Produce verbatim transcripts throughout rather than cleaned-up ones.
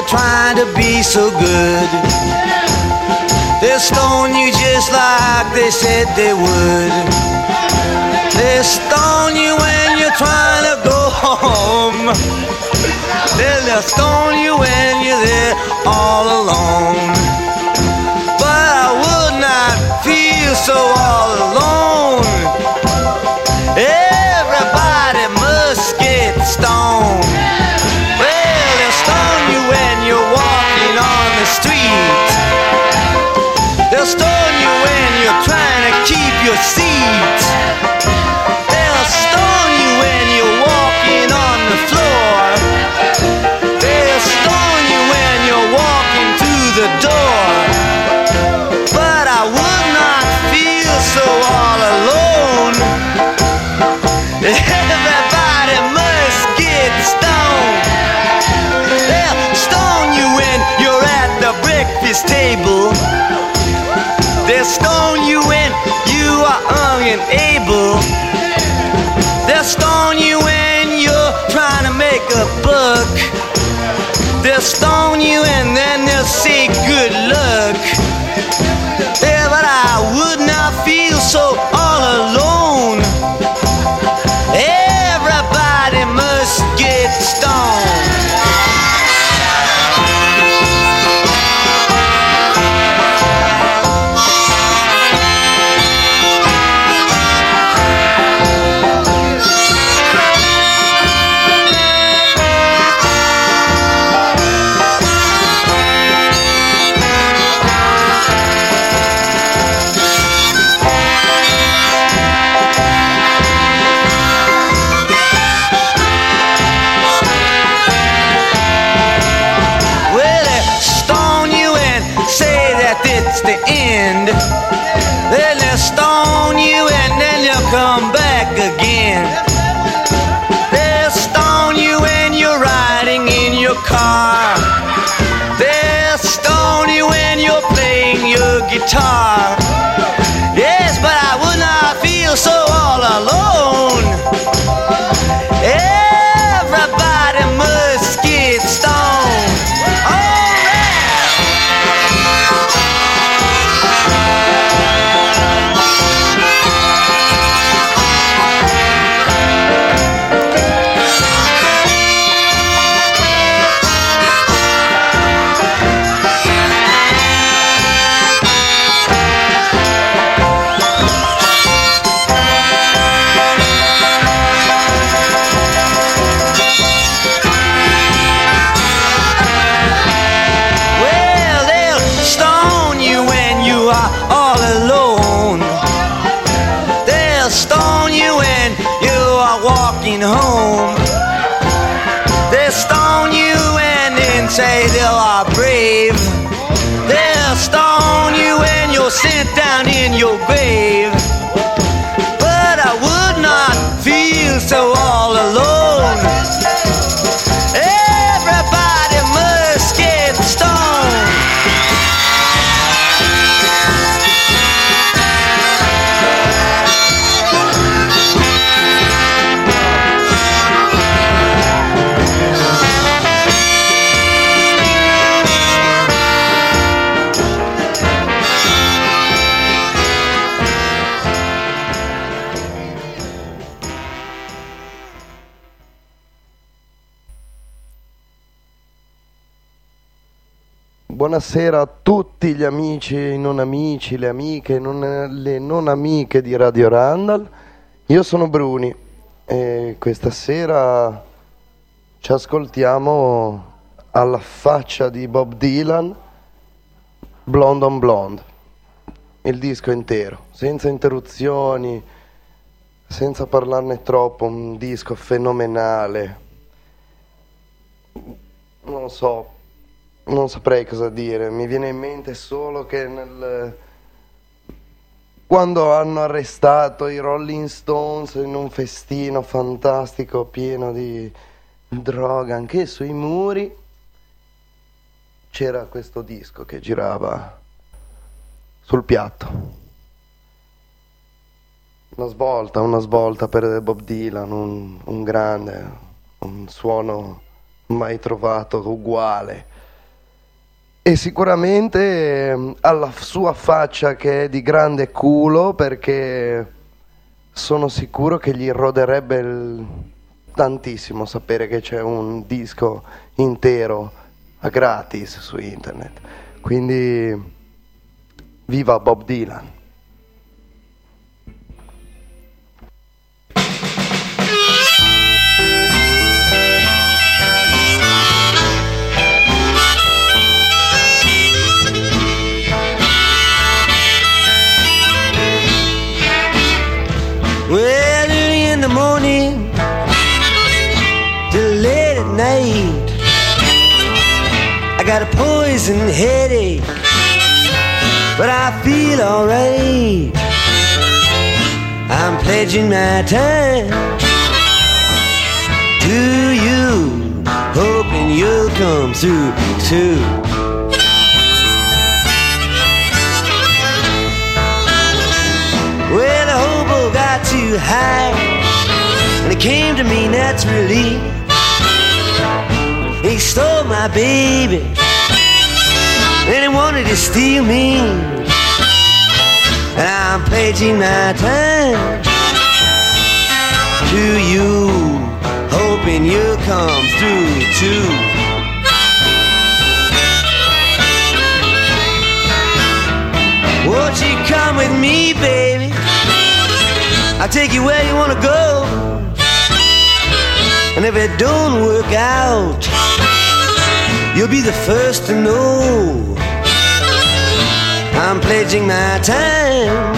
trying to be so good. They'll stone you just like they said they would. They'll stone you when you're trying to go home. They'll stone you when you're there all alone. But I would not feel so all alone. Everybody must get stoned. Well, they'll stone you when you're walking on the street. They'll stone you when you're trying to keep your seat. They'll stone you when you're walking on the floor. They'll stone you when you're walking through the door. But I would not feel so all alone. Everybody must get stoned. They'll stone you when you're at the breakfast table. They'll stone you when you are unable. They'll stone you when you're trying to make a buck. They'll stone you and then they'll say good luck. Yeah, but I would not feel so all alone. Everybody must get stoned. It's the end. Then they'll stone you and then you'll come back again. They'll stone you when you're riding in your car. They'll stone you when you're playing your guitar. Yes, but I would not feel so all alone. Everybody must get stoned. Oh, home. They'll stone you and then say they are brave. They'll stone you when you're sent down in your grave. But I would not feel so all alone. Everybody must get stoned. Buonasera a tutti gli amici e i non amici, le amiche, non, le non amiche di Radio Randall. Io sono Bruni e questa sera ci ascoltiamo alla faccia di Bob Dylan, Blonde on Blonde, il disco intero, senza interruzioni, senza parlarne troppo, un disco fenomenale. Non so, non saprei cosa dire, mi viene in mente solo che nel... quando hanno arrestato i Rolling Stones in un festino fantastico pieno di droga, anche sui muri c'era questo disco che girava sul piatto. Una svolta, una svolta per Bob Dylan, un, un grande, un suono mai trovato uguale. e sicuramente eh, alla sua faccia che è di grande culo, perché sono sicuro che gli roderebbe il... tantissimo sapere che c'è un disco intero a gratis su internet. Quindi viva Bob Dylan. Well, early in the morning till late at night, I got a poison headache, but I feel alright. I'm pledging my time to you, hoping you'll come through too. Well, the hobo got too high, and it came to me naturally. He stole my baby, and he wanted to steal me. And I'm pledging my time to you, hoping you'll come through too. Won't you come with me, baby? I'll take you where you wanna go. And if it don't work out, you'll be the first to know. I'm pledging my time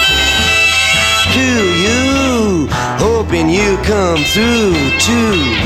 to you, hoping you come through too.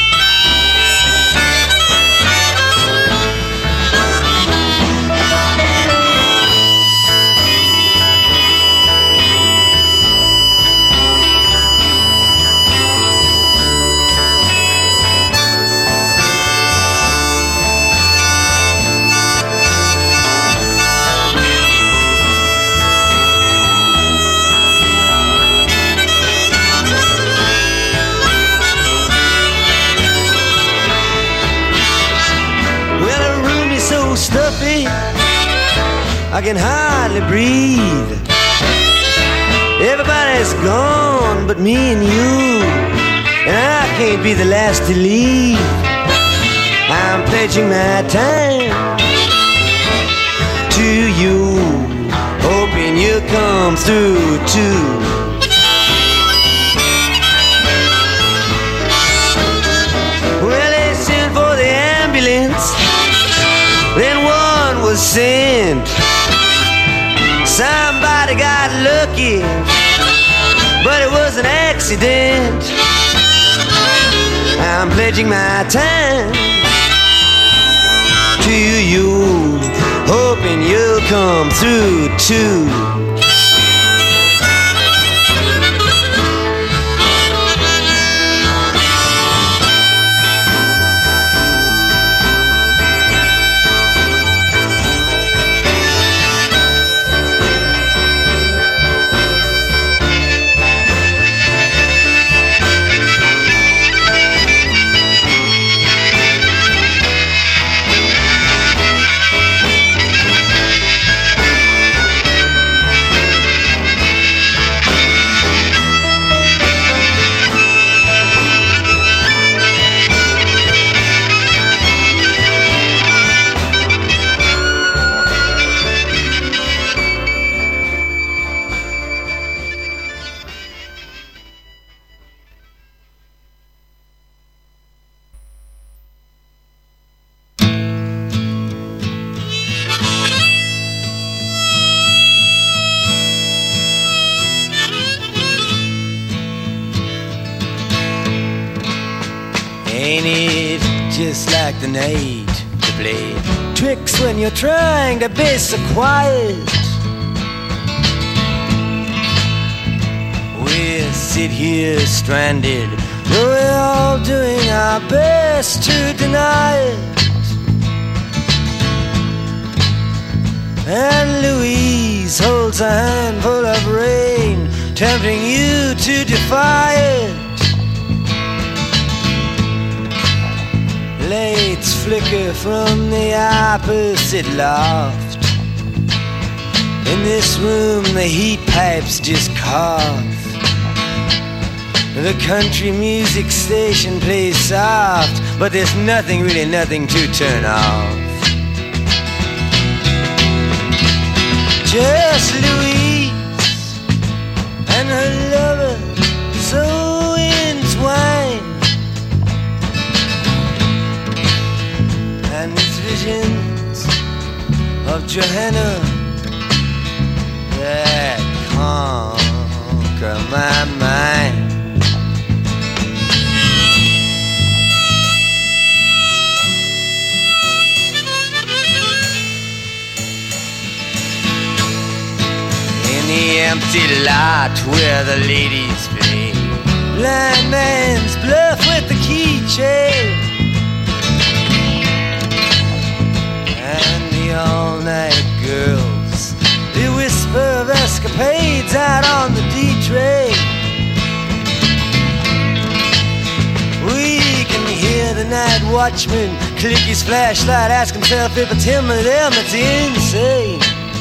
Stuffy, I can hardly breathe. Everybody's gone but me and you, and I can't be the last to leave. I'm pledging my time to you, hoping you'll come through too. Well, they sent for the ambulance, then one was sent. Somebody got lucky, but it was an accident. I'm pledging my time to you, hoping you'll come through too. Ain't it just like the night to play tricks when you're trying to be so quiet? We sit here stranded, though we're all doing our best to deny it. And Louise holds a handful of rain, tempting you to defy it. Lights flicker from the opposite loft. In this room the heat pipes just cough. The country music station plays soft, but there's nothing, really nothing to turn off. Just Louise and her lover so entwined, and these visions of Johanna that conquer my mind. In the empty lot where the ladies play blind man's bluff with the keychain, and the all-night girls, they whisper of escapades out on the D-train. We can hear the night watchman click his flashlight, ask himself if it's him or them that's insane.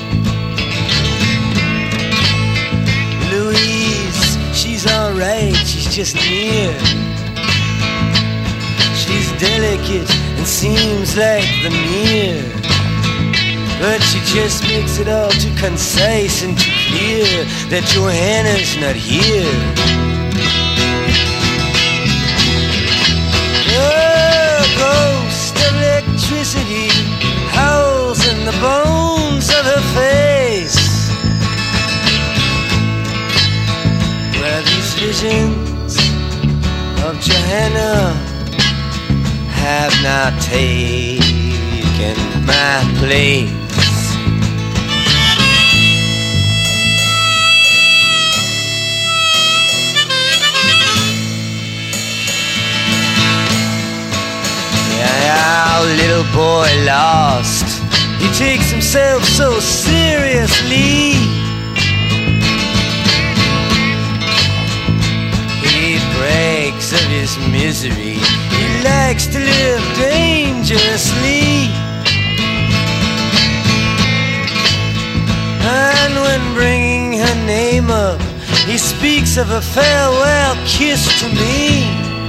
Louise, she's alright, she's just near. She's delicate and seems like the mirror, but she just makes it all too concise and too clear that Johanna's not here. The ghost of electricity howls in the bones of her face, where these visions of Johanna have now taken my place. Yeah, our little boy lost, he takes himself so seriously. He brags of his misery, he likes to live dangerously. And when bringing her name up, he speaks of a farewell kiss to me.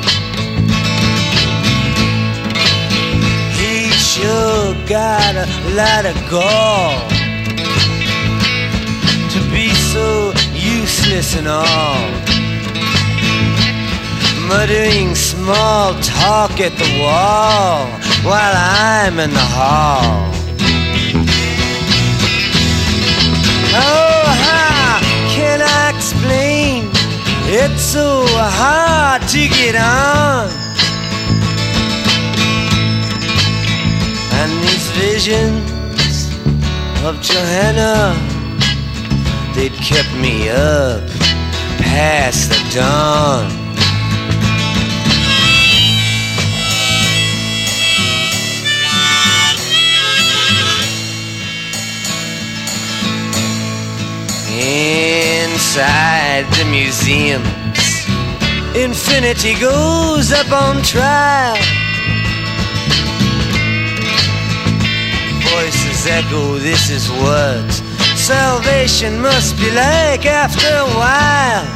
He sure got a lot of gall to be so useless and all, muttering small talk at the wall while I'm in the hall. Oh, how can I explain? It's so hard to get on. And these visions of Johanna, they'd kept me up past the dawn. Inside the museums, infinity goes up on trial. Voices echo, this is what salvation must be like after a while.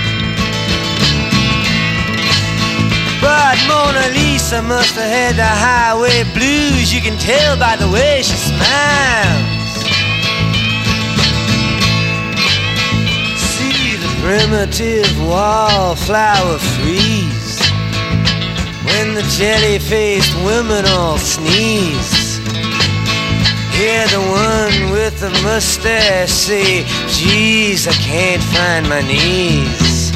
But Mona Lisa must have had the highway blues, you can tell by the way she smiles. Primitive wallflower freeze when the jelly-faced women all sneeze. Hear the one with the mustache say, geez, I can't find my knees.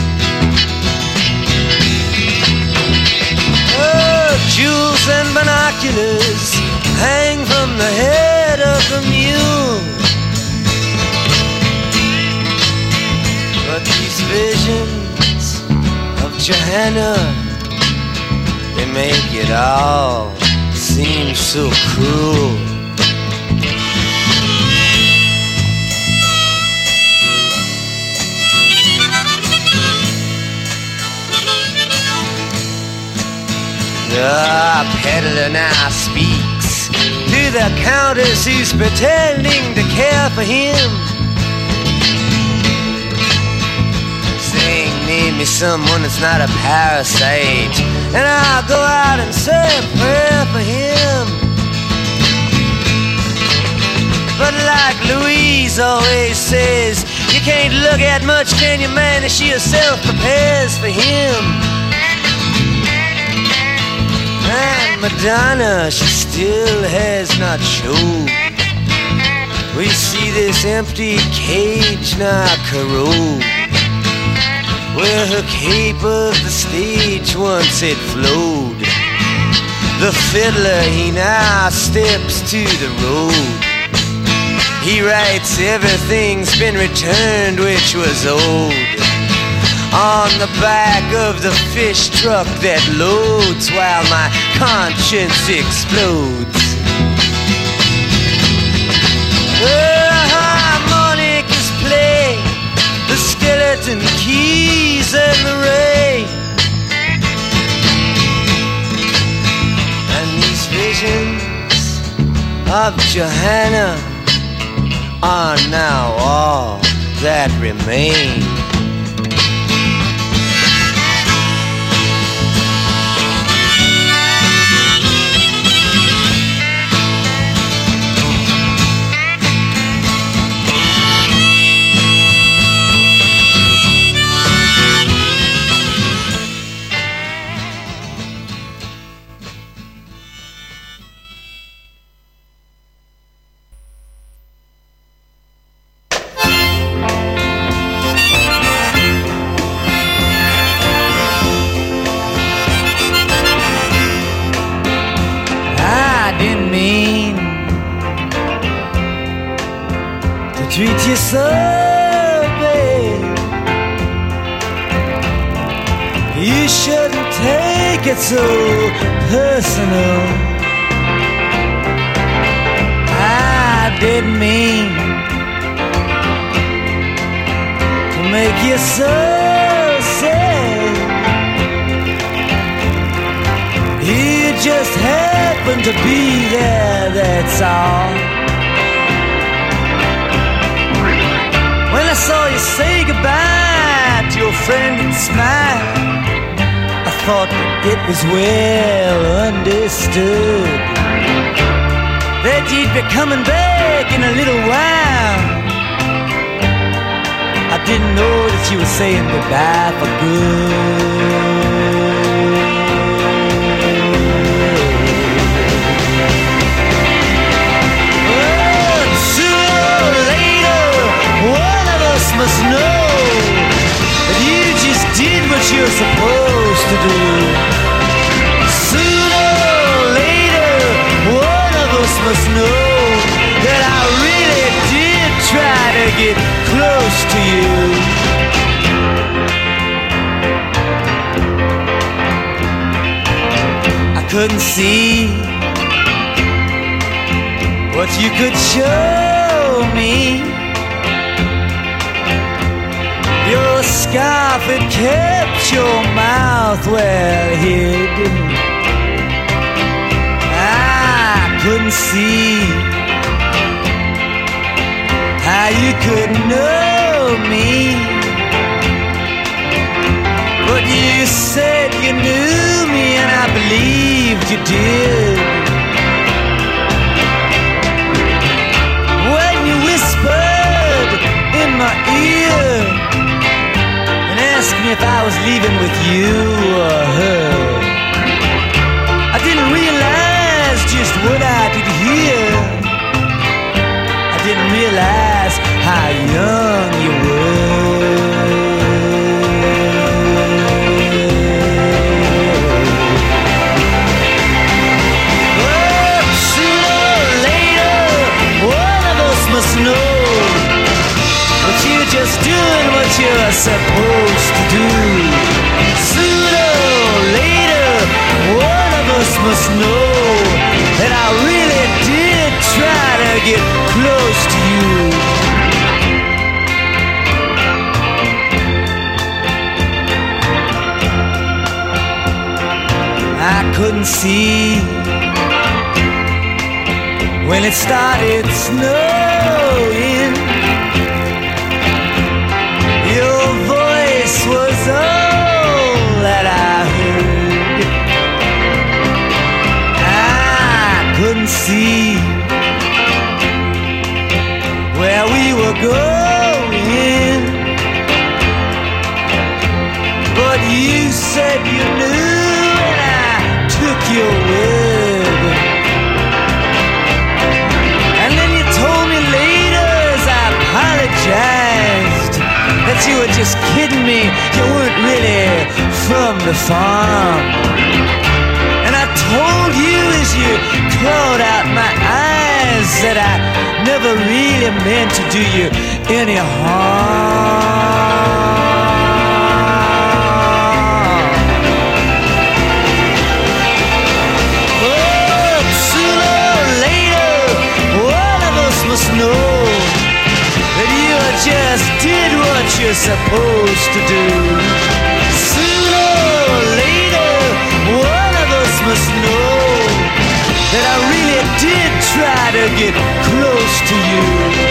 Oh, jewels and binoculars hang from the head of the mule. But these visions of Johanna, they make it all seem so cruel. The peddler now speaks to the countess who's pretending to care for him, saying, name me someone that's not a parasite, and I'll go out and say a prayer for him. But like Louise always says, you can't look at much, can you, man, as she herself prepares for him. And Madonna, she still has not showed. We see this empty cage now corrode, where her cape of the stage once had flowed. The fiddler, he now steps to the road. He writes everything's been returned which was old on the back of the fish truck that loads while my conscience explodes. The harmonicas play, the skeleton keys and the rain, and these visions of Johanna are now all that remain. Treat you so bad, you shouldn't take it so personal. I didn't mean to make you so sad. You just happened to be there, that's all. When I saw you say goodbye to your friend and smile, I thought that it was well understood that you'd be coming back in a little while. I didn't know that you were saying goodbye for good. Must know that you just did what you're supposed to do. Sooner or later, one of us must know that I really did try to get close to you. I couldn't see what you could show me. Your scarf had kept your mouth well hid. I couldn't see how you could know me, but you said you knew me and I believed you did. When you whispered in my ear, asked me if I was leaving with you or her, I didn't realize just what I did hear. I didn't realize how young you were. But sooner or later, one of us must know that you're just doing what you're supposed to do. Sooner or later, one of us must know that I really did try to get close to you. couldn't see when it started snowing. Your voice was all that I heard. I couldn't see where we were going, but you said you knew and I took your word. And then you told me later as I apologized that you were just kidding me, you weren't really from the farm. And I told you as you clawed out my eyes that I never really meant to do you any harm. Must know that you just did what you're supposed to do. Sooner or later, one of us must know that I really did try to get close to you.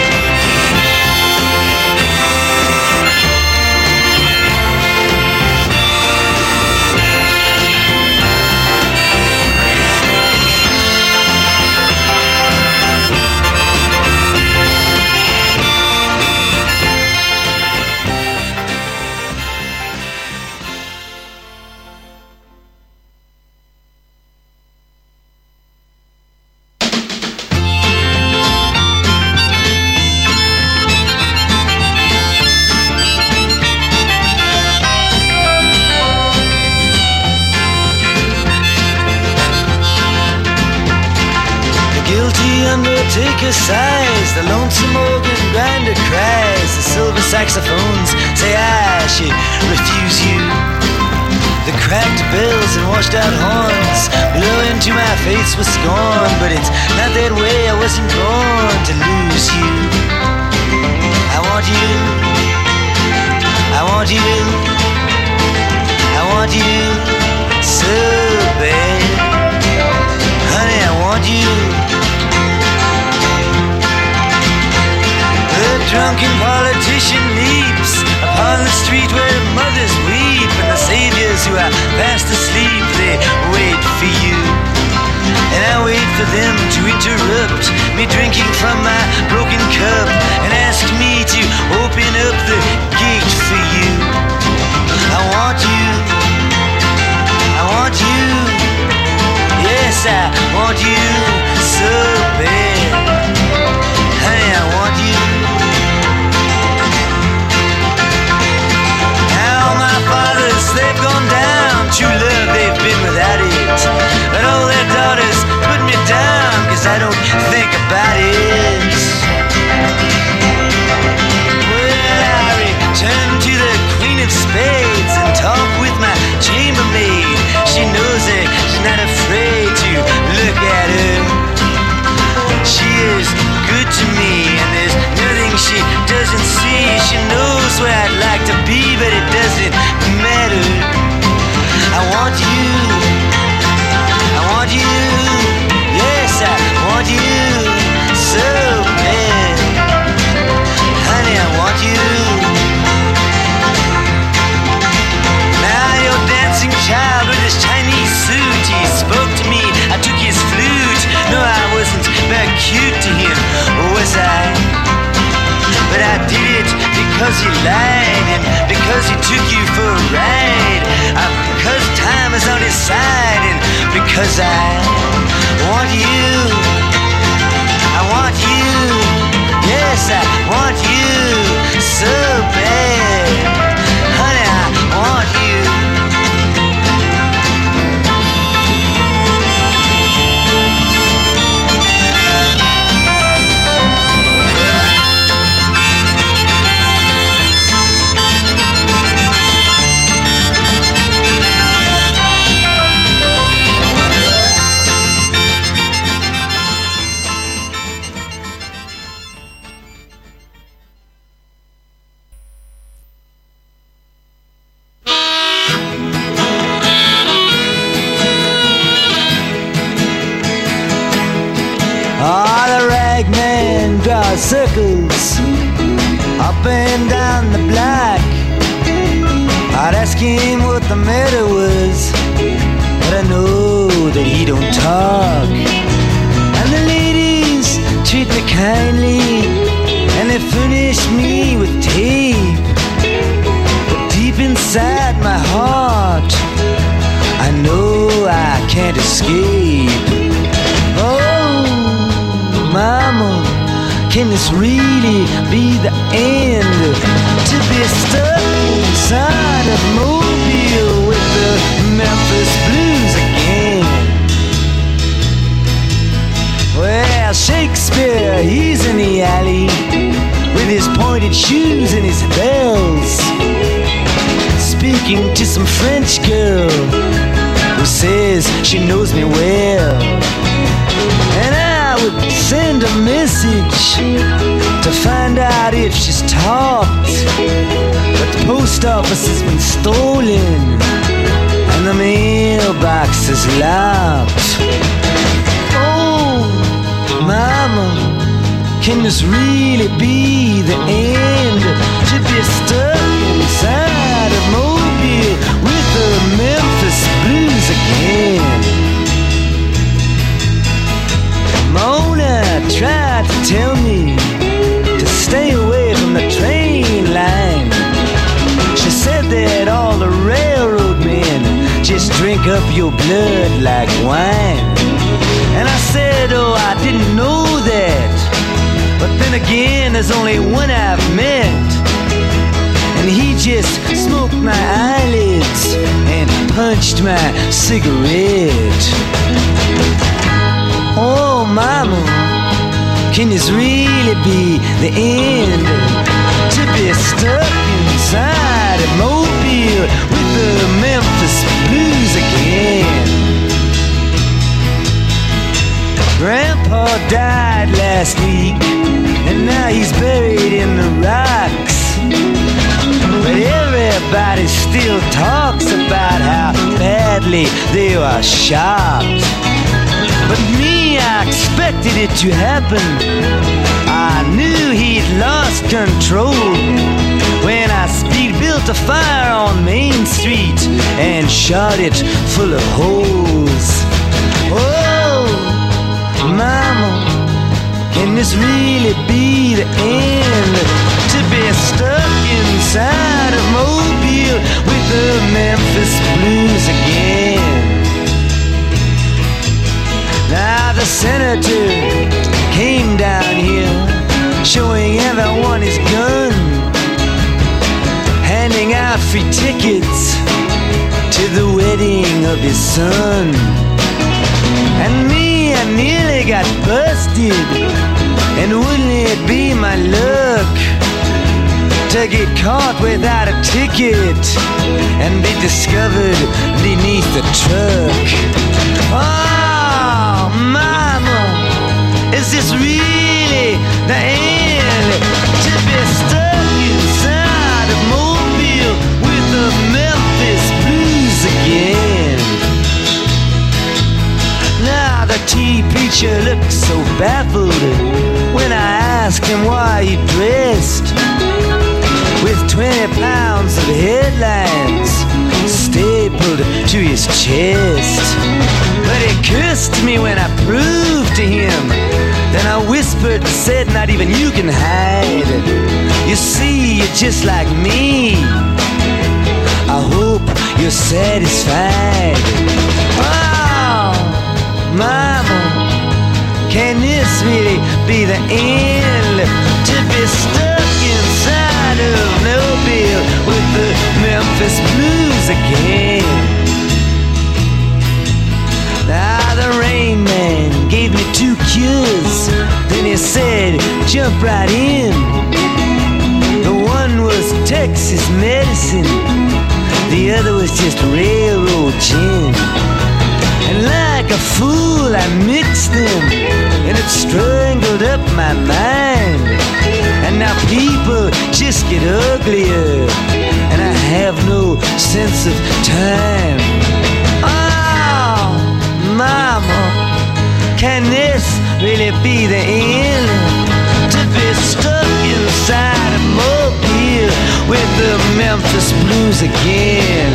Undertaker sighs, the lonesome organ grinder cries, the silver saxophones say I should refuse you. The cracked bells and washed out horns blow into my face with scorn, but it's not that way, I wasn't born to lose you. I want you, I want you, I want you so bad. Honey, I want you. The drunken politician leaps upon the street where mothers weep, and the saviors who are fast asleep, they wait for you. And I wait for them to interrupt me drinking from my broken cup and ask me to open up the gate for you. I want you, I want you, yes I want you so bad. Honey, I want you. They've gone down, true love they've been without it, but all their daughters put me down, cause I don't think about it. Well, I return to the Queen of Spades and talk with my chambermaid. She knows it, she's not afraid to look at her. She is good to me and there's nothing she doesn't see. She knows where I'd like to be, but it doesn't matter. I want you, I want you, yes I want you so bad. Honey, I want you. Now your dancing child with his Chinese suit, he spoke to me, I took his flute. No, I wasn't very cute to him, was I? But I did it because he lied and because he took you for a ride. Uh, because time is on his side and because I want you. I want you. Yes, I want you so bad. Honey, I want you. him what the matter was, but I know that he don't talk. And the ladies treat me kindly, and they furnish me with tape. But deep inside my heart, I know I can't escape. Oh, mama, can this really be the end? To be stuck inside a mobile with the Memphis Blues again. Well, Shakespeare, he's in the alley with his pointed shoes and his bells, speaking to some French girl who says she knows me well. And I would send a message to find out if she's talked, but the post office has been stolen and the mailbox is locked. Oh, mama, can this really be the end? To be stuck inside a mobile with the Memphis Blues again. Mona tried to tell me to stay away from the train line. She said that all the railroad men just drink up your blood like wine. And I said, oh, I didn't know that. But then again, there's only one I've met, and he just smoked my eyelids and punched my cigarette. Oh, mama, can this really be the end? To be stuck inside a mobile with the Memphis Blues again. Grandpa died last week, and now he's buried in the rocks. But everybody still talks about how badly they were shot. But me, I expected it to happen. I knew he'd lost control when I speed built a fire on Main Street and shot it full of holes. Oh, mama, can this really be the end? To be stuck inside a mobile with the Memphis Blues again. Now the senator came down here, showing everyone his gun, handing out free tickets to the wedding of his son. And me, I nearly got busted, and wouldn't it be my luck to get caught without a ticket and be discovered beneath the truck. Oh, mama, is this really the end? To be stuck inside a mobile with the Memphis Blues again. Now the tea preacher looks so baffled when I asked him why he dressed with twenty pounds of headlines stapled to his chest. But he cursed me when I proved to him. Then I whispered and said, not even you can hide. You see, you're just like me. I hope you're satisfied. Oh, mama, can this really be the end? To be stuck inside of Mobile with the Memphis Blues again. Now the Rain Man gave me two cures, then he said, jump right in. The one was Texas medicine, the other was just railroad gin. And like a fool I mixed them, and it strangled up my mind. And now people just get uglier, and I have no sense of time. Oh, mama, can this really be the end? To be stuck inside a mobile with the Memphis blues again.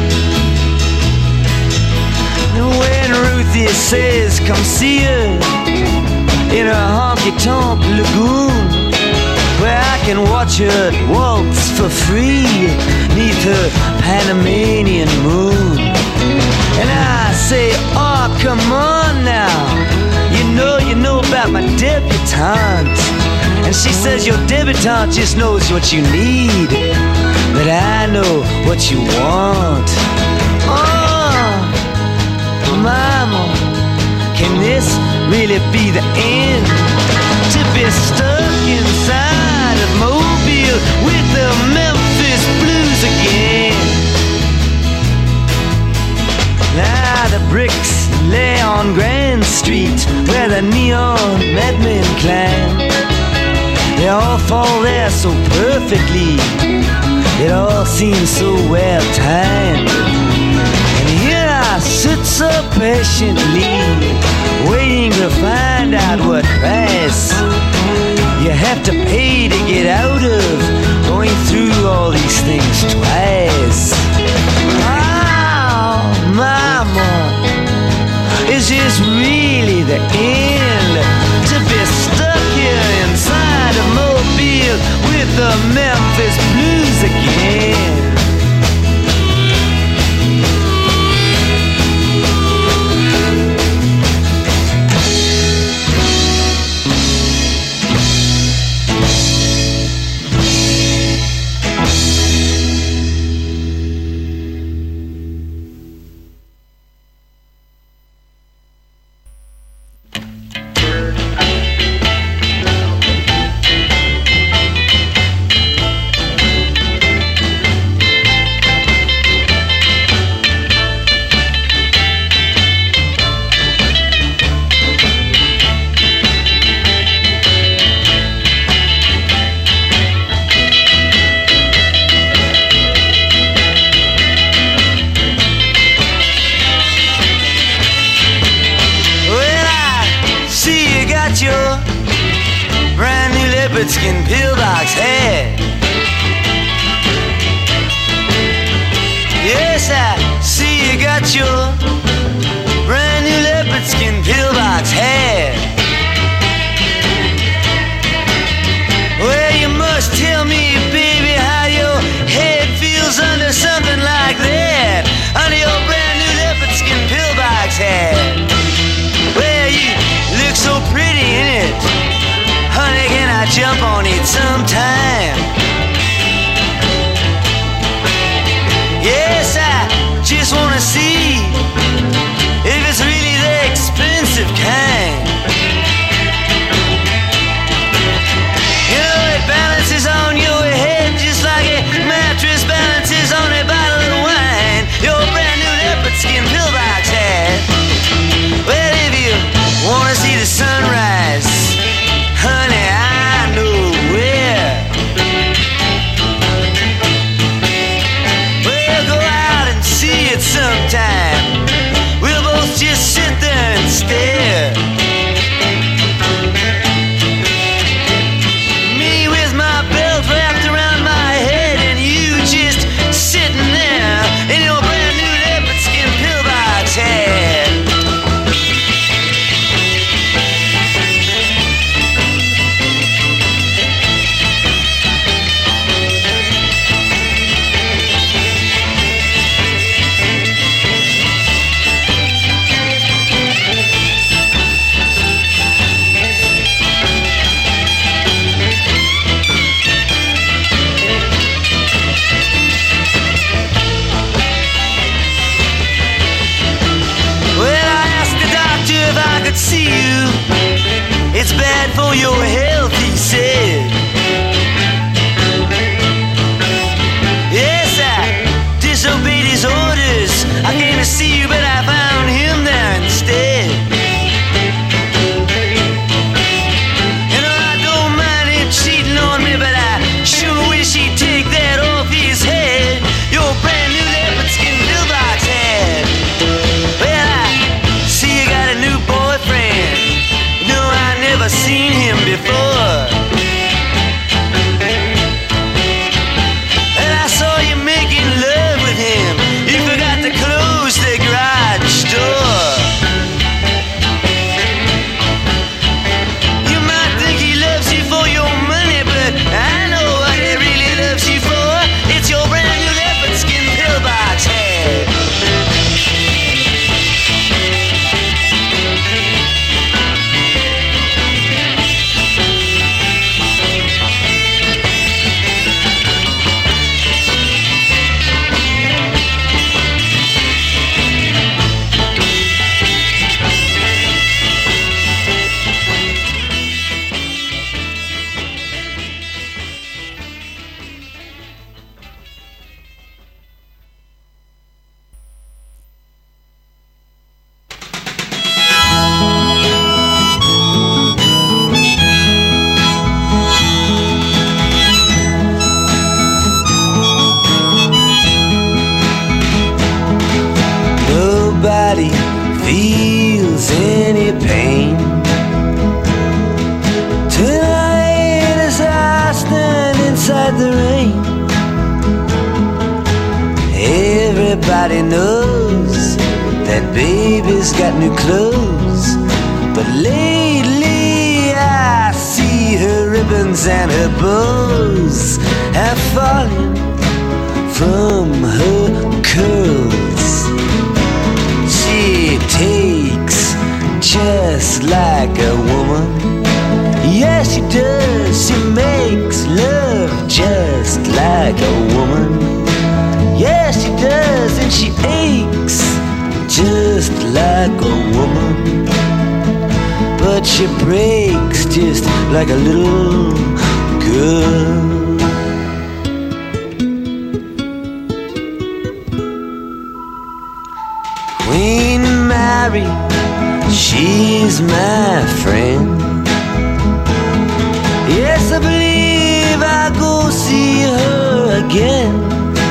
When Ruthie says come see her in a honky-tonk lagoon, where I can watch her waltz for free neath her Panamanian moon. And I say, oh, come on now, you know, you know about my debutante. And she says, your debutante just knows what you need, but I know what you want. Oh, mama, can this really be the end? To be stuck inside of Mobile with the Memphis blues again. Now the bricks lay on Grand Street where the neon madmen climb. They all fall there so perfectly, it all seems so well timed. And here I sit so patiently, waiting to find out what price you have to pay to get out of going through all these things twice. Oh, mama, is this really the end? To be stuck here inside of Mobile with the Memphis blues again. Skin pillbox head. Yes, I see you got your brand new leopard skin pillbox head. Well, you must tell me, baby, how your head feels under something like that, under your brand new leopard skin pillbox head. Well, you look so pretty in it. Honey, can I jump on it sometime? Yes, I just wanna see if it's really the expensive kind. You know, it balances on your head just like a mattress balances on a bottle of wine. Your brand new leopard skin pillbox hat. Well, if you wanna see the sunrise, honey, I know where. We'll go out and see it sometime. We'll both just sit there and stare. Me with my belt wrapped around my head, and you just sitting there in your brand new leopard skin pillbox hat. See you, it's bad for your health, he said. Yes, I disobeyed his orders. I came to see you, but I found him there instead. You know, I don't mind him cheating on me, but I sure wish he'd take that off his head. Your brand new leopard skin pillbox head. Well, I see you got a new boyfriend. No, I never seen him before. feels any pain. Tonight as I stand inside the rain, everybody knows that baby's got new clothes, but lately I see her ribbons and her bows have fallen from her curls. She takes just like a woman. Yes, she does. She makes love just like a woman. Yes, she does, and she aches just like a woman. But she breaks just like a little girl. Queen Mary, she's my friend. Yes, I believe I'll go see her again.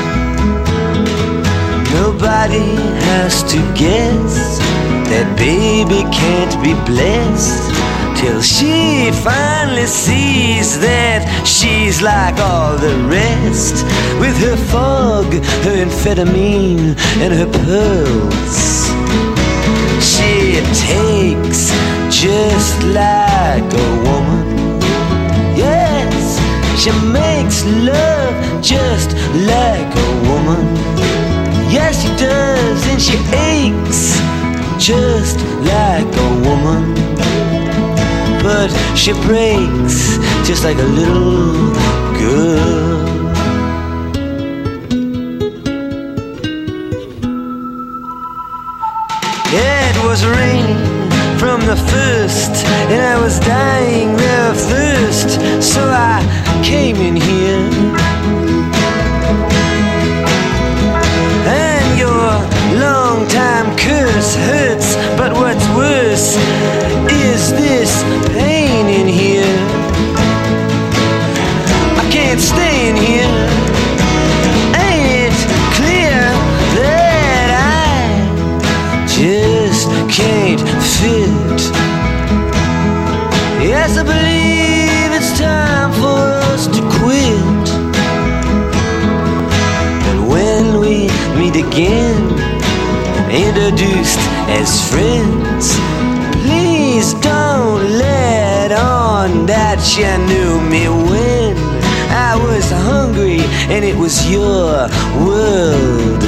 Nobody has to guess that baby can't be blessed till she finally sees that she's like all the rest, with her fog, her amphetamine, and her pearls. She takes just like a woman. Yes, she makes love just like a woman. Yes, she does, and she aches just like a woman. But she breaks just like a little girl. It was raining from the first, and I was dying there of thirst, so I came in here. And your long-time curse hurts, but what's worse is this pain in here. I can't stay in here. Ain't it clear that I just can't fit? Yes, I believe it's time for us to quit. And when we meet again, introduced as friends, please don't let on that you knew me when I was hungry and it was your world.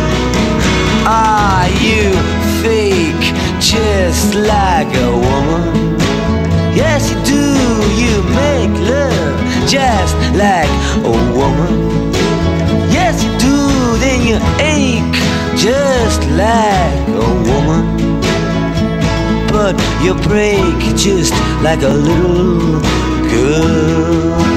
Are you fake just like a woman? Yes, you do. You make love just like a woman. Yes, you do. Then you ache just like a woman. But you break just like a little girl.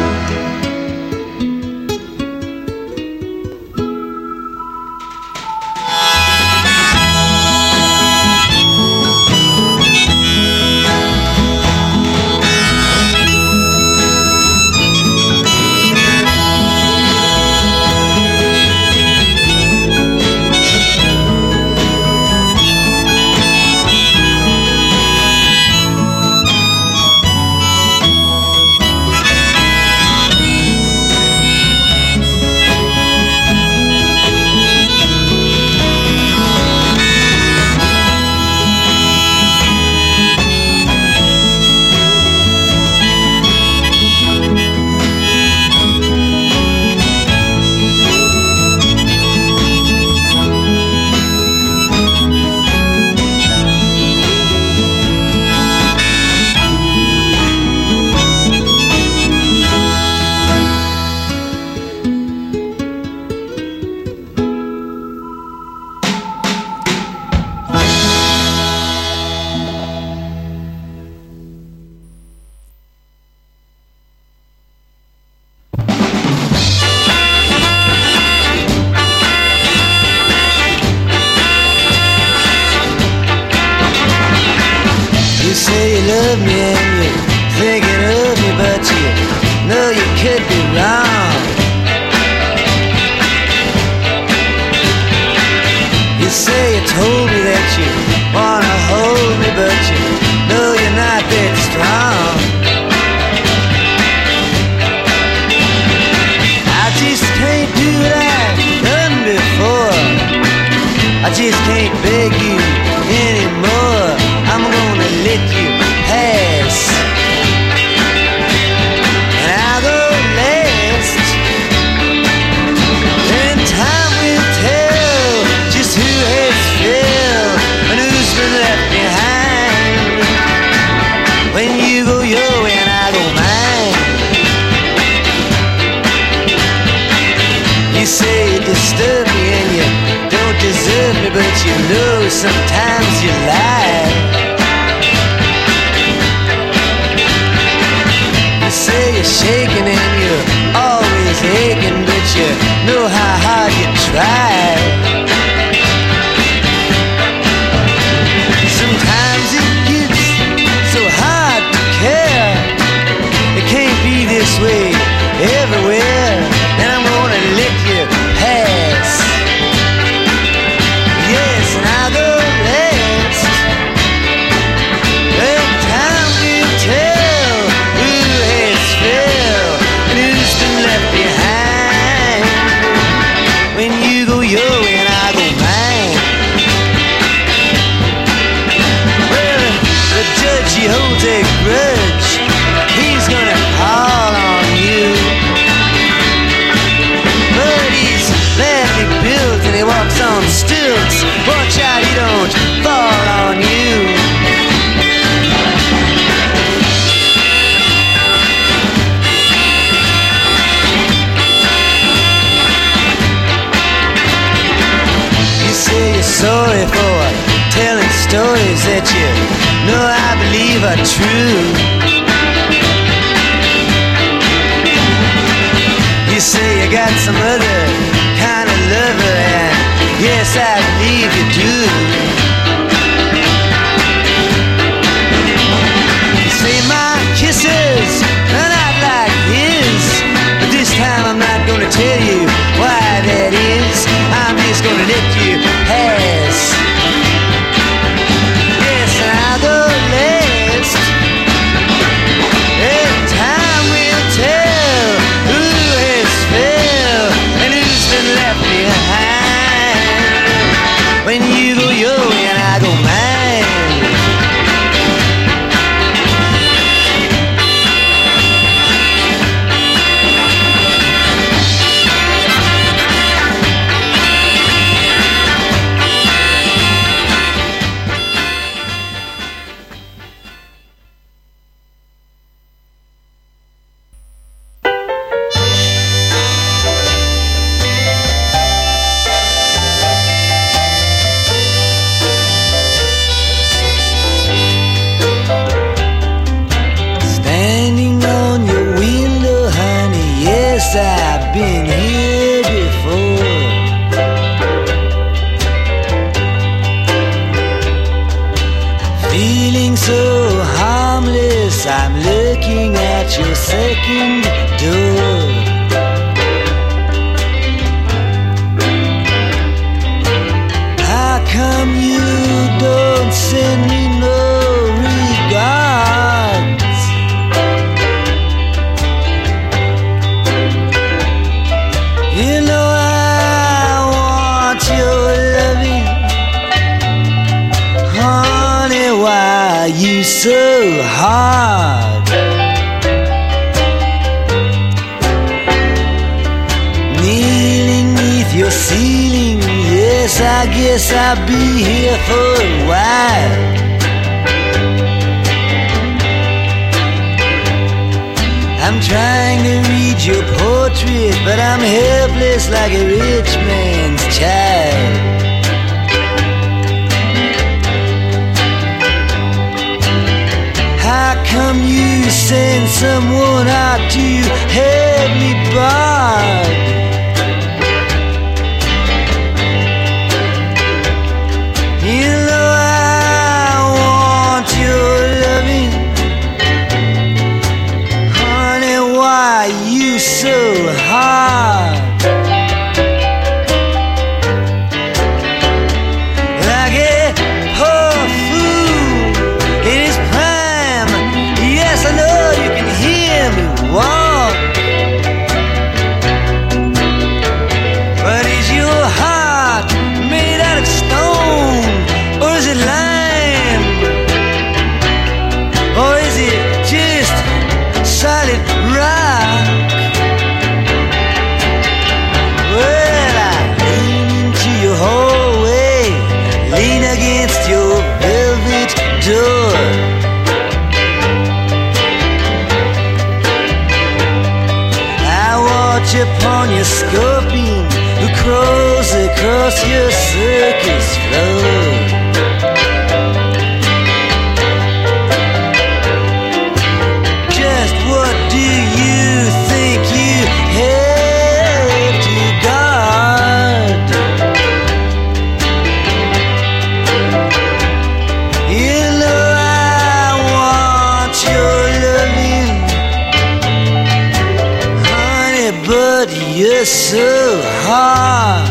You say you told me that you wanna hold me, but you know you're not that strong. I just can't do what I've done before. I just can't beg you anymore. I'm gonna let you pass, and I'll go last. And time will tell just who has failed and who's been left behind. When you go your way and I go mine. You say you disturb me and you don't deserve me, but you know sometimes you lie. You say you're shaking and you're always aching, but you know how hard you try. Sometimes it gets so hard to care. It can't be this way everywhere, and I'm gonna let you pass. Yes, and I'll go last. Well, time will tell who has failed and who's been left behind. When you go your way and I go mine. Well, the judge, he holds a grudge. He's gonna call on you, but he's badly built and he walks on stilts. Watch out he don't fall on you. You say you're sorry for telling stories that you know I believe are true. You say you got some other kind of lover, and yes, I believe you do. You say my kisses are not like his, but this time I'm not gonna tell you why that is. I'm just gonna let you pass. Yes, and I'll go last. And time will tell who has failed and who's been left behind. When you go your way and I go mine. Standing on your window, honey, yes, I've been here before. Feeling so harmless, I'm looking at your second door. How come you don't send me no regards? You know I want your loving, honey, why are you so hard? Kneeling neath your ceiling, yes, I guess I'll be here for a while. I'm trying to read your portrait, but I'm helpless like a rich man's child. How come you send someone out to have me barred? You know I want your loving, honey, why you so hard? Like a poor across your circus floor. Just what do you think you have to guard? You know I want your loving, honey, but you're so hard.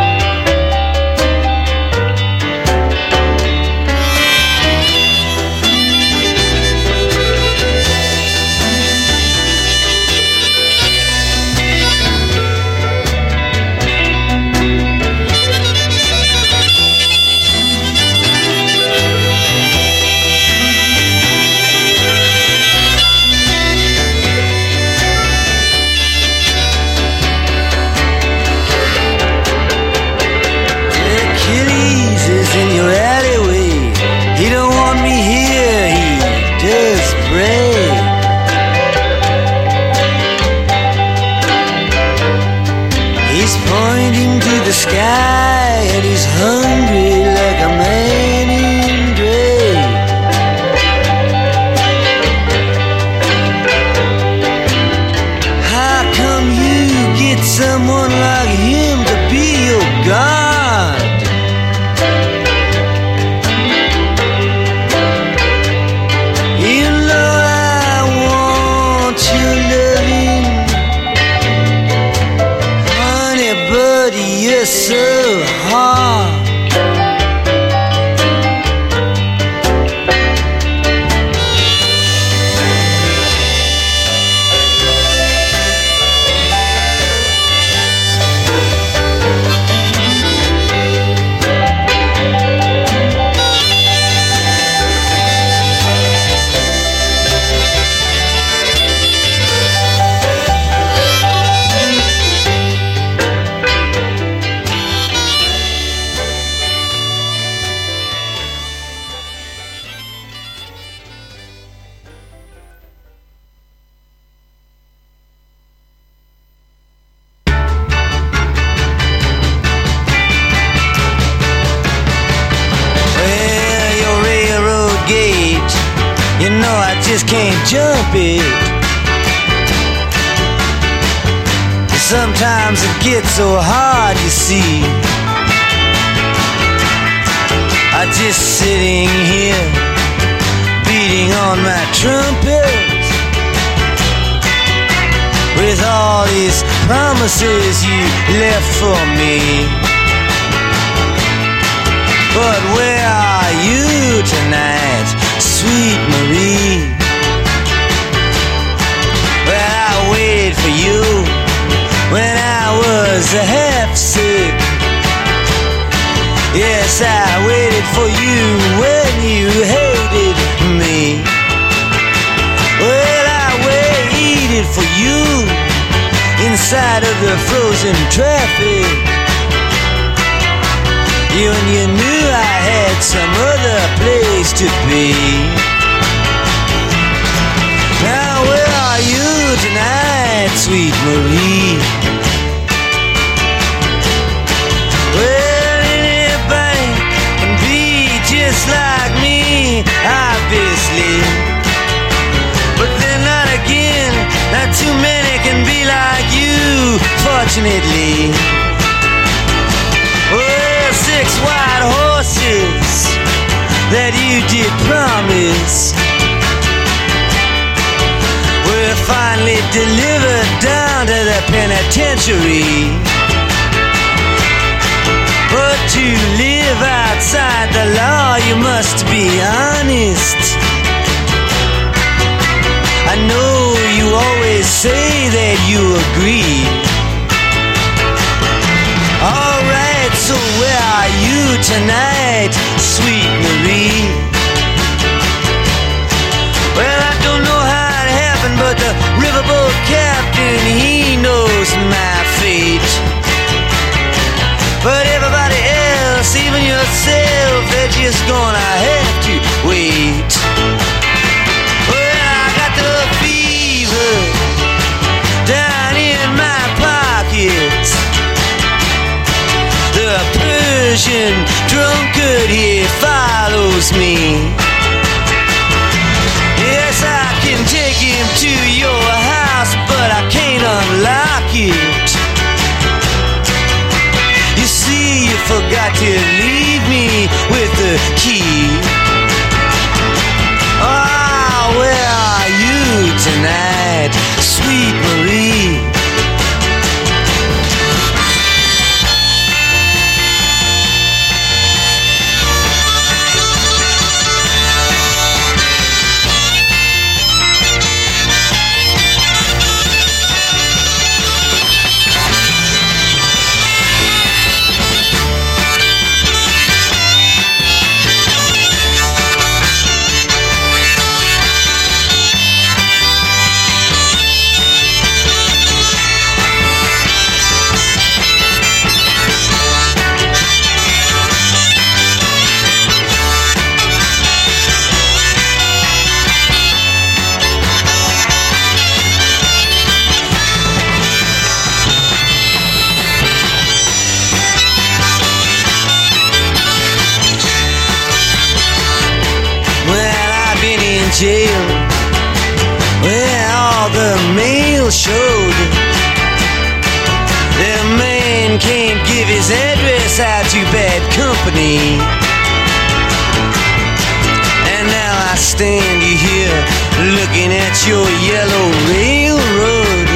The sky and he's hungry like a man in gray. How come you get someone like him to be your God? You know I want your loving, honey, but you're so hard. Can't jump it. Sometimes it gets so hard, you see. I'm just sitting here beating on my trumpet with all these promises you left for me. But where are you tonight, sweet Marie? Well, I waited for you when I was half sick. Yes, I waited for you when you hated me. Well, I waited for you inside of the frozen traffic. You and you knew I had some other place to be. Now where are you tonight, sweet Marie? Well, anybody can be just like me, obviously. But then not again, not too many can be like you, fortunately. Well, six white horses that you did promise were finally delivered down to the penitentiary. But to live outside the law, you must be honest. I know you always say that you agree. Alright, so where are you tonight, sweet Marie? Well, I don't know how it happened, but the riverboat captain, he knows my fate. But everybody else, even yourself, they're just gonna have to wait. Well, I got the fever down in my pockets. The but he follows me. Yes, I can take him to your house, but I can't unlock it. You see, you forgot to leave me with the key. Ah, oh, where are you tonight, sweet Marie? Jail, where all the mail showed. The man can't give his address out to bad company. And now I stand here looking at your yellow railroad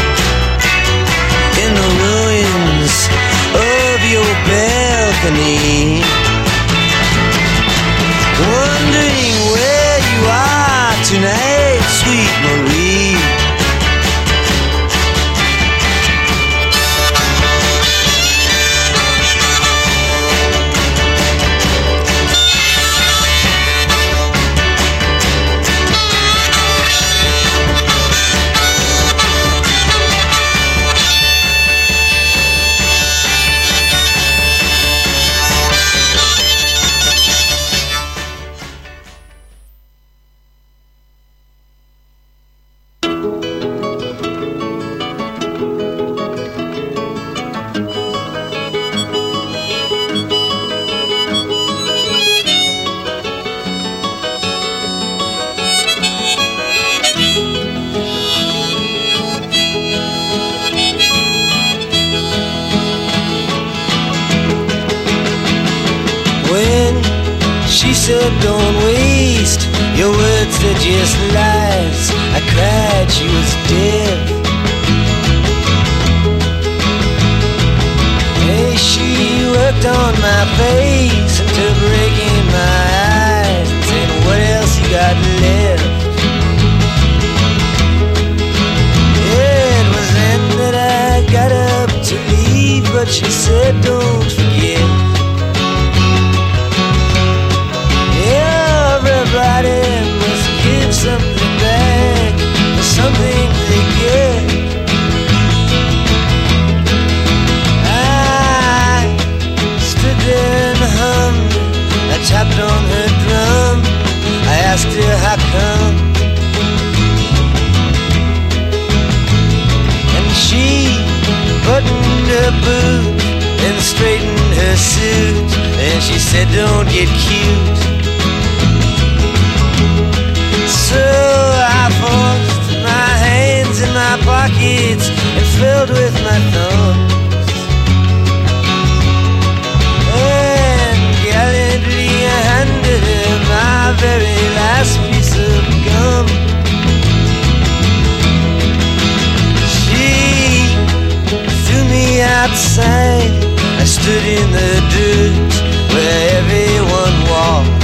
in the ruins of your balcony, wondering where you are tonight, sweet Marie. Said don't waste your words, they're just lies. I cried, she was dead. Hey, she worked on my face until breaking my eyes and saying, what else you got left? Yeah, it was then that I got up to leave, but she said don't forget. Everybody must give something back for something they get. I stood there and hummed. I tapped on her drum. I asked her how come, and she buttoned her boot and straightened her suit, and she said don't get cute. So I forced my hands in my pockets and filled with my thumbs, and gallantly I handed her my very last piece of gum. She threw me outside. I stood in the dirt where everyone walked.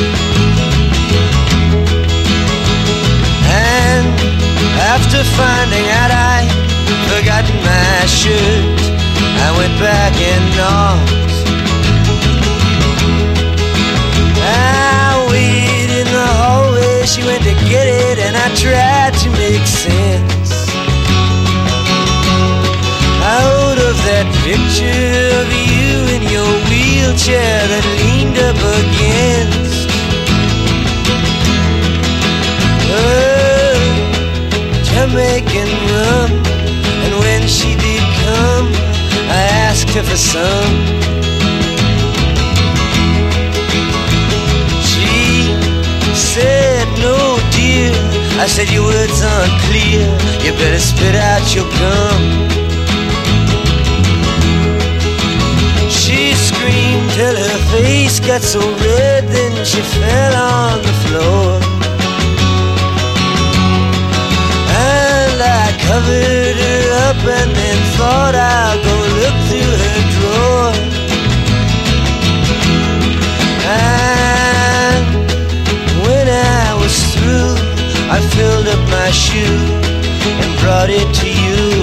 After finding out I'd forgotten my shirt, I went back and knocked. I waited in the hallway, she went to get it, and I tried to make sense out of that picture of you in your wheelchair that leaned up against Jamaican rum. And when she did come, I asked her for some. said your words unclear, you better spit out your gum. She screamed till her face got so red, then she fell on the floor. And I covered her up and then thought I'll go look through her drawer. And when I was through, I filled up my shoe and brought it to you.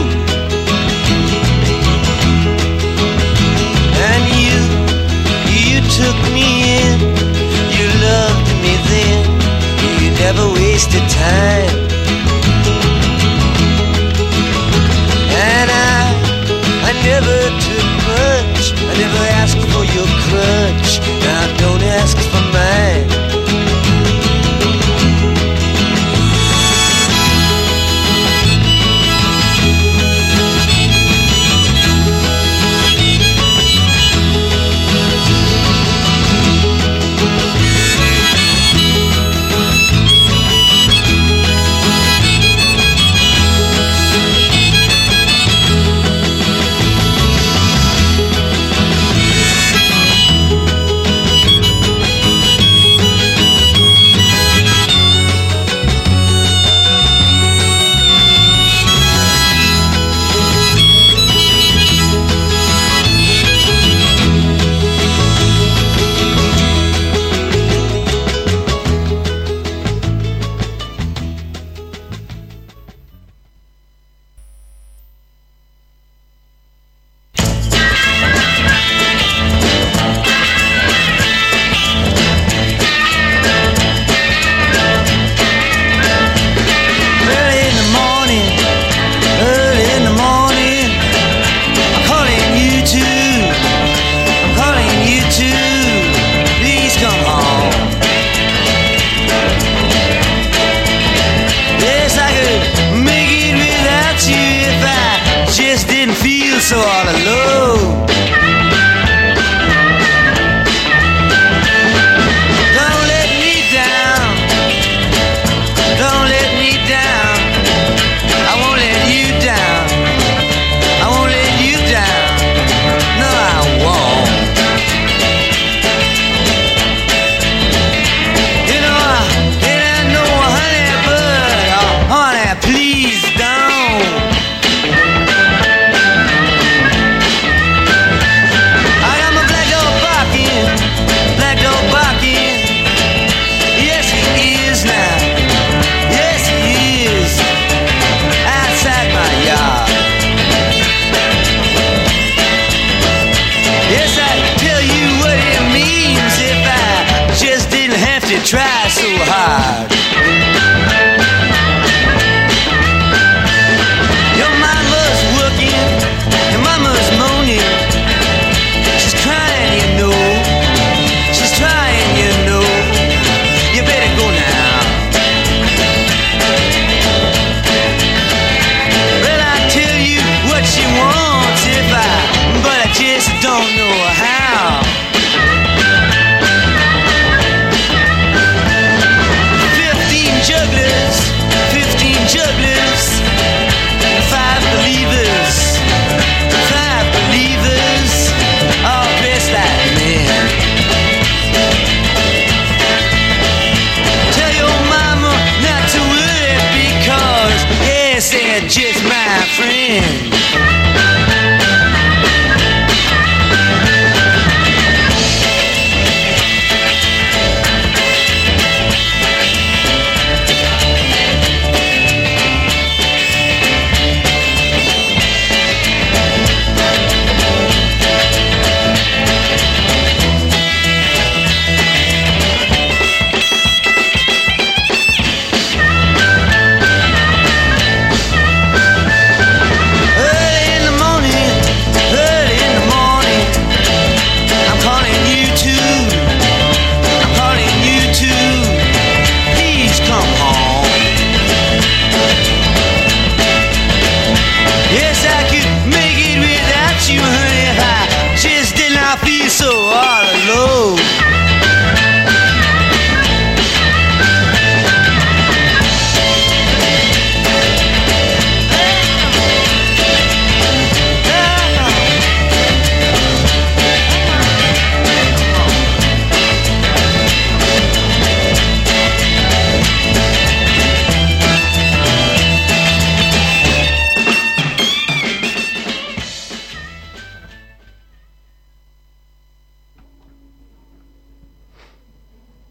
And you, you took me in, you loved me then, you never wasted time. And I, I never took much, I never asked for your crutch, now don't ask for mine. So all alone. Don't let me down, don't let me down, I won't let you down, I won't let you down, no I won't. You know, I, and I know, honey, but, oh, honey, please don't. Try so hard. Your mama's working, your mama's moaning. She's crying, you know. She's trying, you know. You better go now. Well, I tell you what she wants if I, but I just don't know how.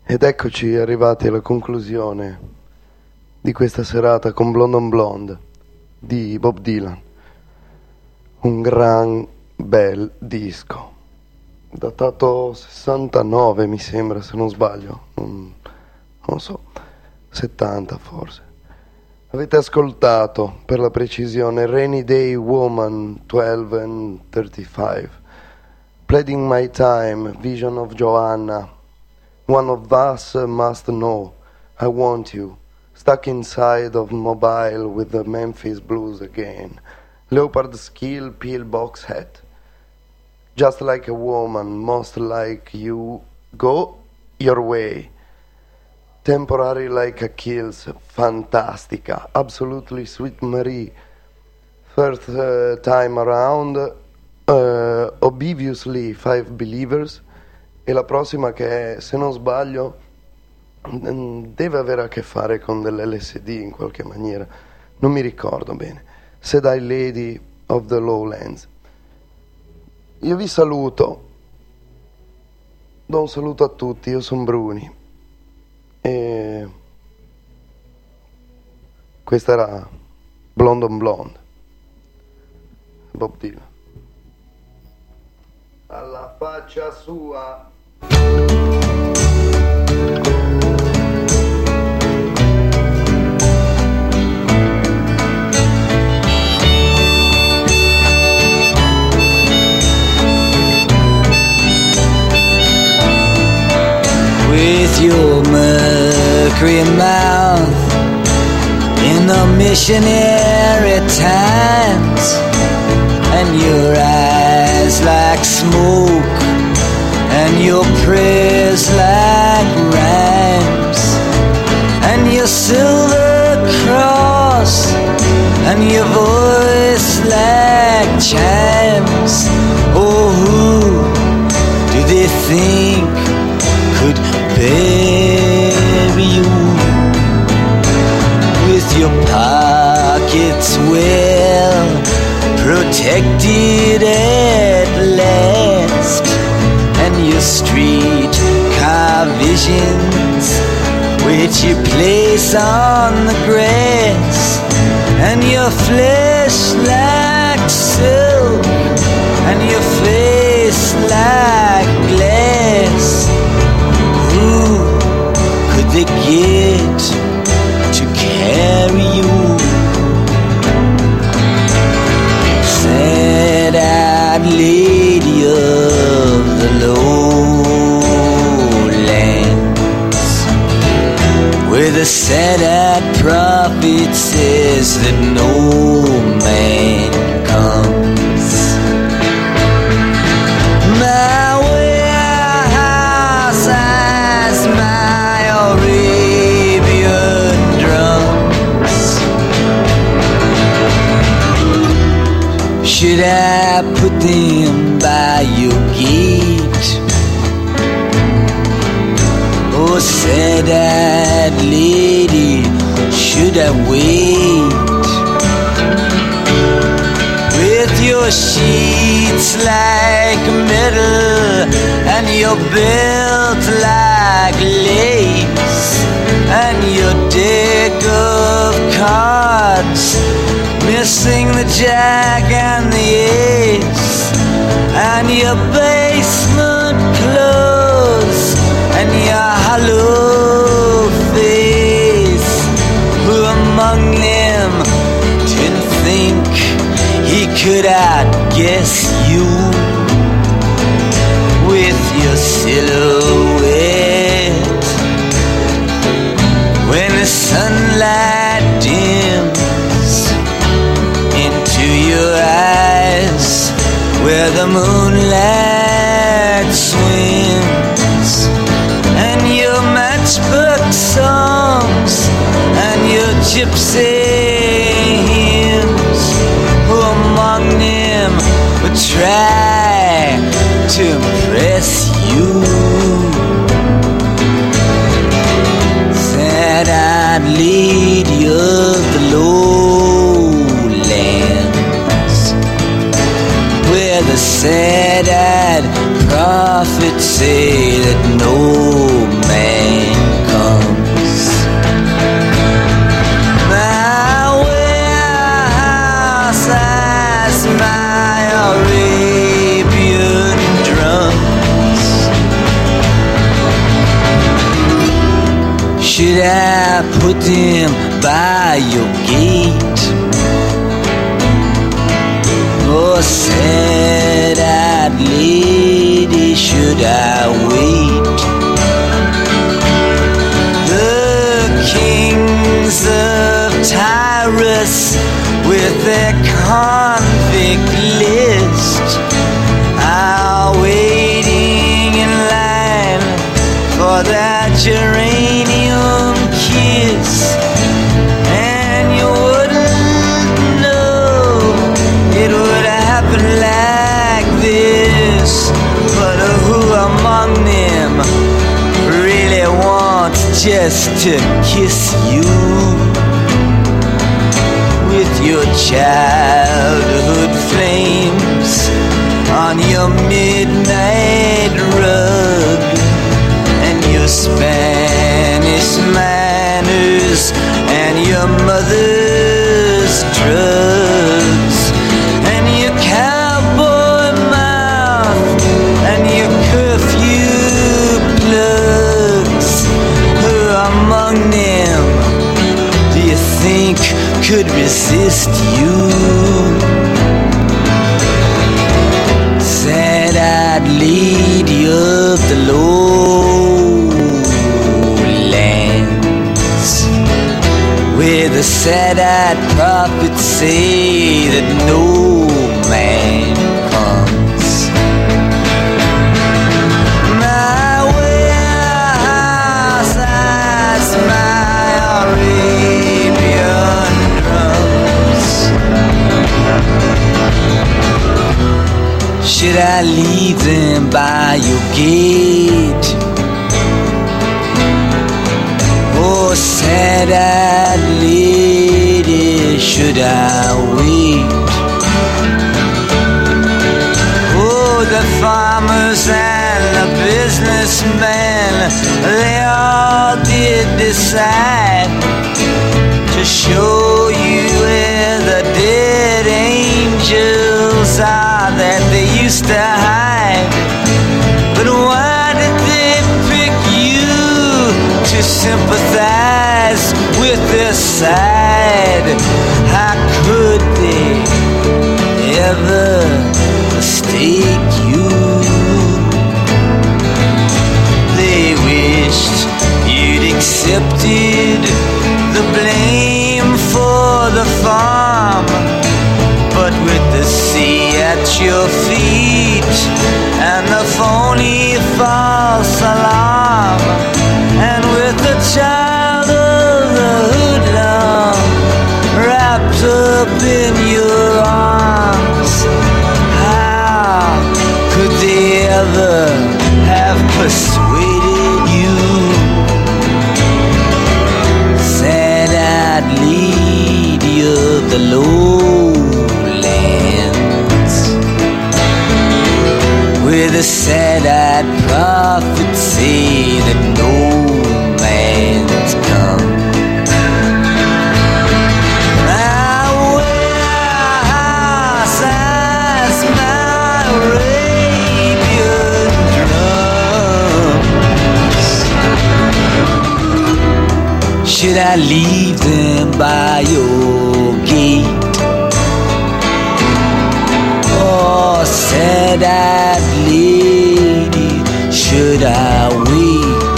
Ed eccoci arrivati alla conclusione di questa serata con Blonde on Blonde di Bob Dylan. Un gran bel disco, datato sessantanove mi sembra, se non sbaglio, non, non so, settanta forse. Avete ascoltato, per la precisione, Rainy Day Woman twelve and thirty-five, Pleading My Time, Vision of Joanna, One of Us Must Know, I Want You, Stuck Inside of Mobile with the Memphis Blues Again, Leopard Skill Pillbox Hat, Just Like a Woman, Most Like You, Go Your Way, Temporary Like a Kills, fantastica, Absolutely Sweet Marie, First uh, Time Around, uh, Obviously Five Believers, e la prossima che è, se non sbaglio, deve avere a che fare con dell'L S D in qualche maniera, non mi ricordo bene, Sedai Lady of the Lowlands. Io vi saluto, do un saluto a tutti, io sono Bruni e questa era Blonde on Blonde, Bob Dylan. Alla faccia sua. With your mercury mouth in the missionary times, and your eyes like smoke, and your prayers like rhymes, and your silver cross, and your voice like chimes. Oh, who do they think could bury you? With your pockets well protected at last, and your street car visions which you place on the grass, and your flesh like silk, and your face like glass. Who could they get to carry you? Sad-eyed lady of the lowlands, where the sad-eyed prophet says that no man comes. My warehouse has my Arabian drums. Should I put them by your gate? Oh, sad-eyed lady, should I wait? With your sheets like metal, and your belt like lace, and your deck of cards missing the jack and the ace, and your basement clothes, and your hollow face. Who among them didn't think he could outguess you? With your silhouette, when the sunlight dims into your eyes, where the moonlight swims, and your matchbook songs, and your gypsy hymns. Who among them would try to impress you? Sad-eyed lady of the lowlands, where the sad-eyed prophets say that no man Should I put them by your gate? Oh, sad-eyed lady, should I wait? The kings of Tyrus with their convict list are waiting in line for that geranium kiss, and you wouldn't know it would happen like this. But who among them really wants just to kiss you with your childhood flames on your midnight rug and your Spanish manners and your mother's drugs and your cowboy mouth and your curfew plugs? Who among them do you think could resist you? Sad-eyed lady of the lowlands, where the sad-eyed prophets say that no man comes. My warehouse has my Arabian drums. Should I leave them by your gate? Oh, sad-eyed lady, should I wait? Oh, the farmers and the businessmen, they all did decide to show you where the dead angels are that they used to hide. But why did they pick you to sympathize with their side? How could they ever mistake you? They wished you'd accepted the blame for the farm, but with the sea at your feet and the phony false alarm, and with the child of the hoodlum wrapped up in your arms, how could they ever have persuaded you? Sad-eyed lady of the lowlands, where the sad-eyed prophets say that no man's come. My warehouse has my Arabian drums. Should I leave them by your gate? Oh, sad-eyed lady, should I wait?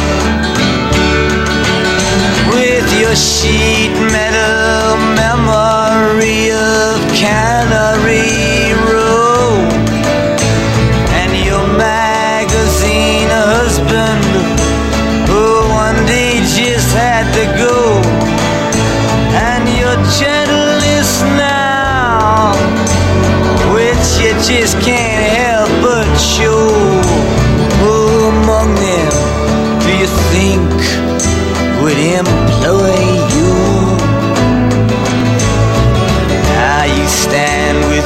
With your sheet metal memory of Cannery Row and your magazine husband who one day just had to go, and your gentleness now, which you just can't help but show. Who among them do you think would employ you? Now you stand with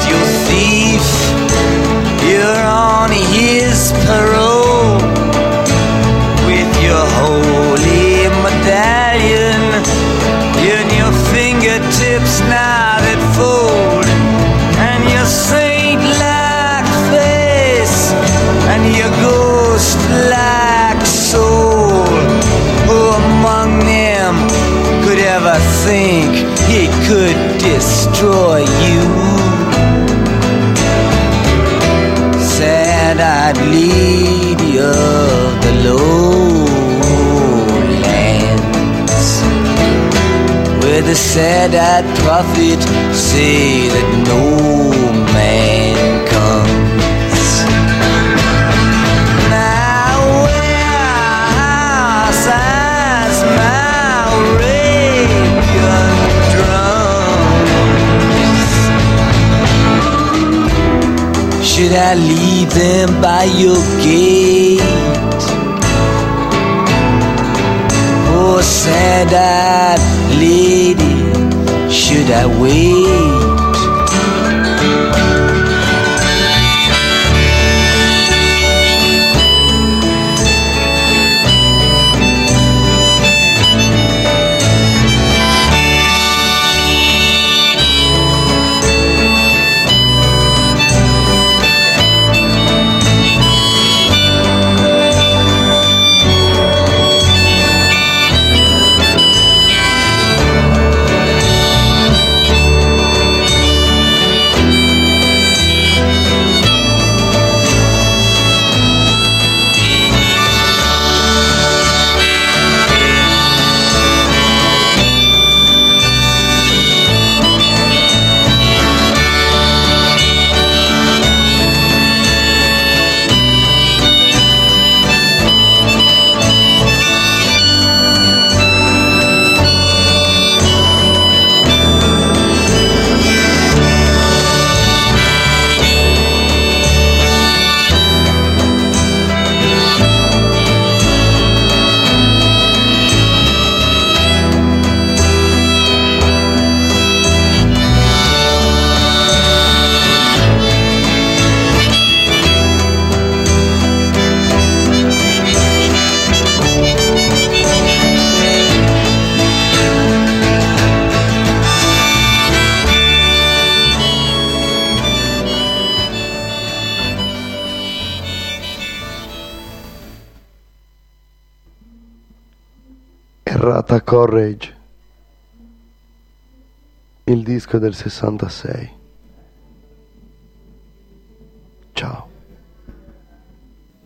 destroy you. Sad-eyed lady of the lowlands, where the sad-eyed prophet say that no man comes. Now where sighs my Arabian drums? Should I leave them by your gate? Oh, sad-eyed lady, should I wait? Errata Courage, il disco del sessantasei. Ciao.